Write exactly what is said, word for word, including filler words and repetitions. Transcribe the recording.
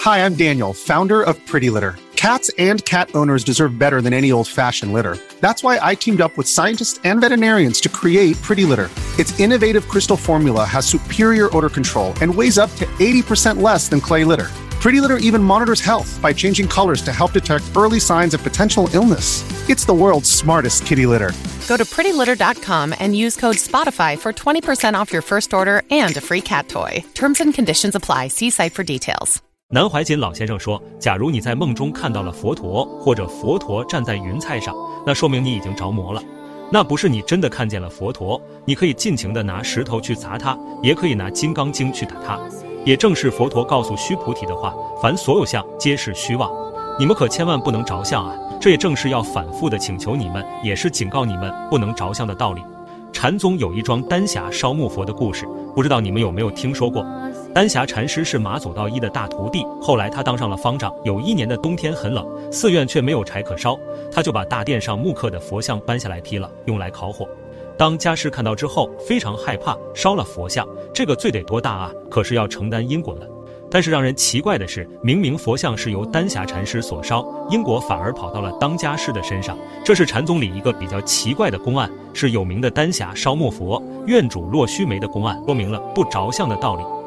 Hi, I'm Daniel, founder of Pretty Litter. Cats and cat owners deserve better than any old-fashioned litter. That's why I teamed up with scientists and veterinarians to create Pretty Litter. Its innovative crystal formula has superior odor control and weighs up to eighty percent less than clay litter. Pretty Litter even monitors health by changing colors to help detect early signs of potential illness. It's the world's smartest kitty litter. Go to pretty litter dot com and use code SPOTIFY for twenty percent off your first order and a free cat toy. Terms and conditions apply. See site for details. 南怀瑾老先生说，假如你在梦中看到了佛陀，或者佛陀站在云彩上，那说明你已经着魔了。那不是你真的看见了佛陀，你可以尽情地拿石头去砸他，也可以拿金刚经去打他。也正是佛陀告诉须菩提的话，凡所有相皆是虚妄，你们可千万不能着相啊！这也正是要反复地请求你们，也是警告你们不能着相的道理。禅宗有一桩丹霞烧木佛的故事，不知道你们有没有听说过？丹霞禅师是马祖道一的大徒弟，后来他当上了方丈。有一年的冬天很冷，寺院却没有柴可烧，他就把大殿上木刻的佛像搬下来劈了，用来烤火。当家师看到之后非常害怕，烧了佛像，这个罪得多大啊，可是要承担因果了。但是让人奇怪的是，明明佛像是由丹霞禅师所烧，因果反而跑到了当家师的身上，这是禅宗里一个比较奇怪的公案，是有名的丹霞烧木佛愿主落须眉的公案，说明了不着相的道理。